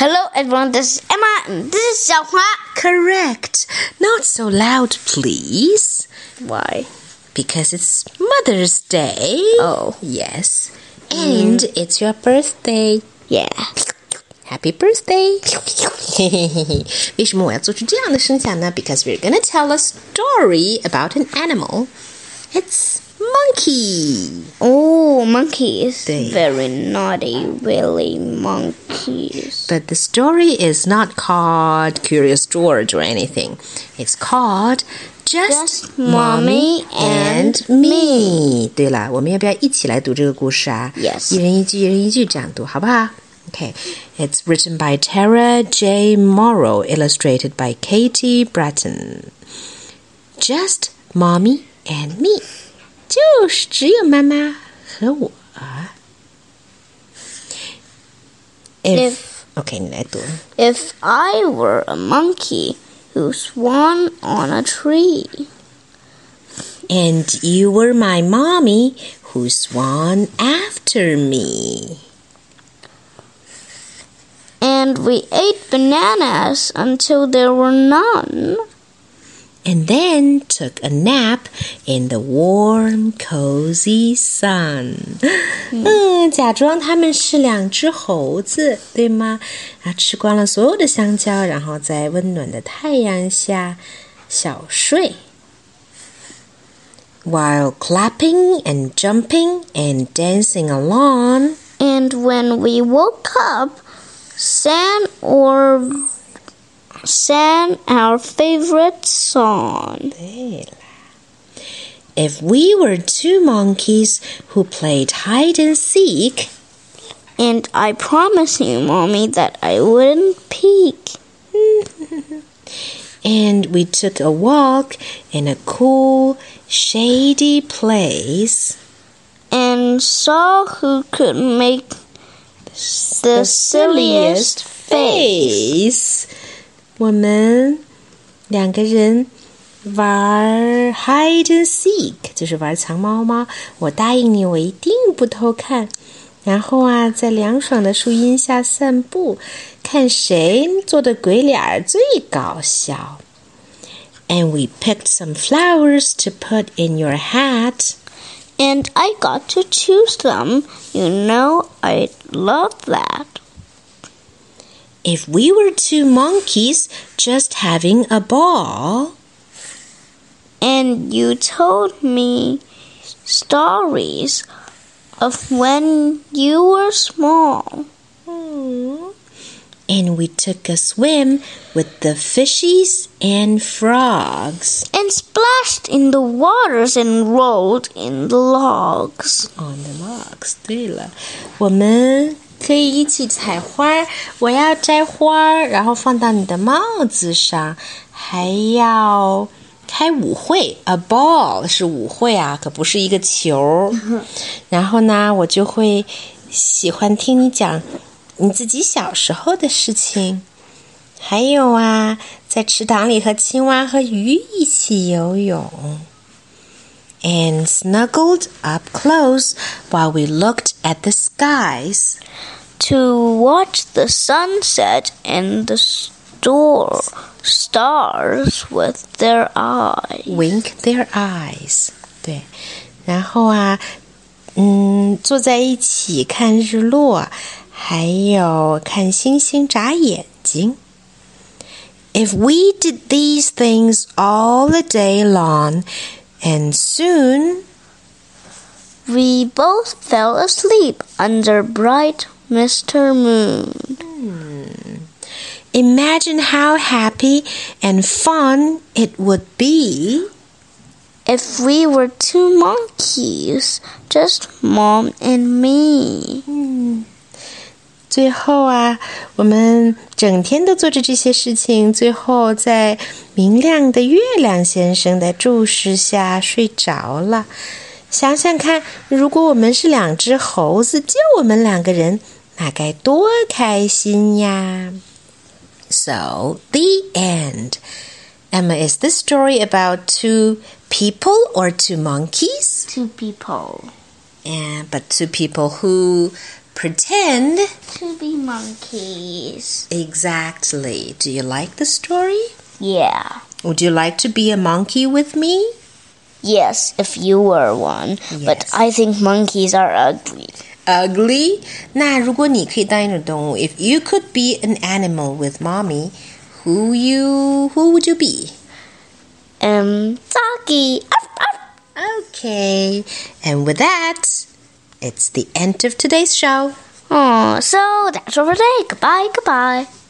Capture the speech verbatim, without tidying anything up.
Hello everyone, this is Emma and this is 小华. Correct. Not so loud, please. Why? Because it's Mother's Day. Oh. Yes. And mm. it's your birthday. Yeah. Happy birthday. 为什么我要做出这样的声响呢？ Because we're going to tell a story about an animal. It's monkey. Oh, monkeys. 对。 Very naughty, really monkeys. But the story is not called Curious George or anything. It's called Just, Just Mommy and Me. 对了，我们要不要一起来读这个故事啊？ Yes. 一人一句，一人一句这样读，好不好？ Okay, it's written by Tara J. Morrow, illustrated by Katie Bratton. Just Mommy and Me. 就是只有妈妈和我。If, okay, 你来读。 If I were a monkey who swam on a tree, and you were my mommy who swam after me, and we ate bananas until there were none, and then took a nap in the warm, cozy sun. 嗯，假装他们是两只猴子，对吗？然后吃光了所有的香蕉，然后在温暖的太阳下小睡。While clapping and jumping and dancing along, and when we woke up, sang or sang our favorite song. 对啦。If we were two monkeys who played hide and seek, and I promise you, Mommy, that I wouldn't peek. and we took a walk in a cool, shady place, and saw who could make the, the silliest face. 我们两个人玩 hide and seek， 就是玩藏猫猫。我答应你，我一定不偷看。然后啊，在凉爽的树荫下散步，看谁做的鬼脸最搞笑。And we picked some flowers to put in your hat. And I got to choose them. You know, I love that. If we were two monkeys just having a ball, and you told me stories of when you were small, Aww. and we took a swim with the fishies and frogs, and splashed in the waters and rolled in the logs. On the logs. 对了，我们可以一起采花，我要摘花，然后放到你的帽子上，还要开舞会。 A ball 是舞会啊，可不是一个球。然后呢，我就会喜欢听你讲你自己小时候的事情。还有啊，在池塘里和青蛙和鱼一起游泳。And snuggled up close while we looked at the skies, to watch the sunset and the store stars with their eyes. wink their eyes. 对，然后啊，嗯，坐在一起看日落，还有看星星眨眼睛。If we did these things all the day long, and soon we both fell asleep under bright Mister Moon. Hmm. Imagine how happy and fun it would be if we were two monkeys, just Mom and me. 嗯，最后啊，我们整天都做着这些事情，最后在明亮的月亮先生的注视下睡着了。想想看，如果我们是两只猴子，就我们两个人，那该多开心呀！ So, the end. Emma, is this story about two people or two monkeys? Two people. Yeah, but two people who pretend to be monkeys. Exactly. Do you like the story? Yeah. Would you like to be a monkey with me? Yes, if you were one. Yes. But I think monkeys are ugly. Ugly? 那如果你可以当一种动物 if you could be an animal with mommy, who you who would you be? Um, doggy. Okay. And with that, it's the end of today's show. Oh, so that's all for today. Goodbye, goodbye.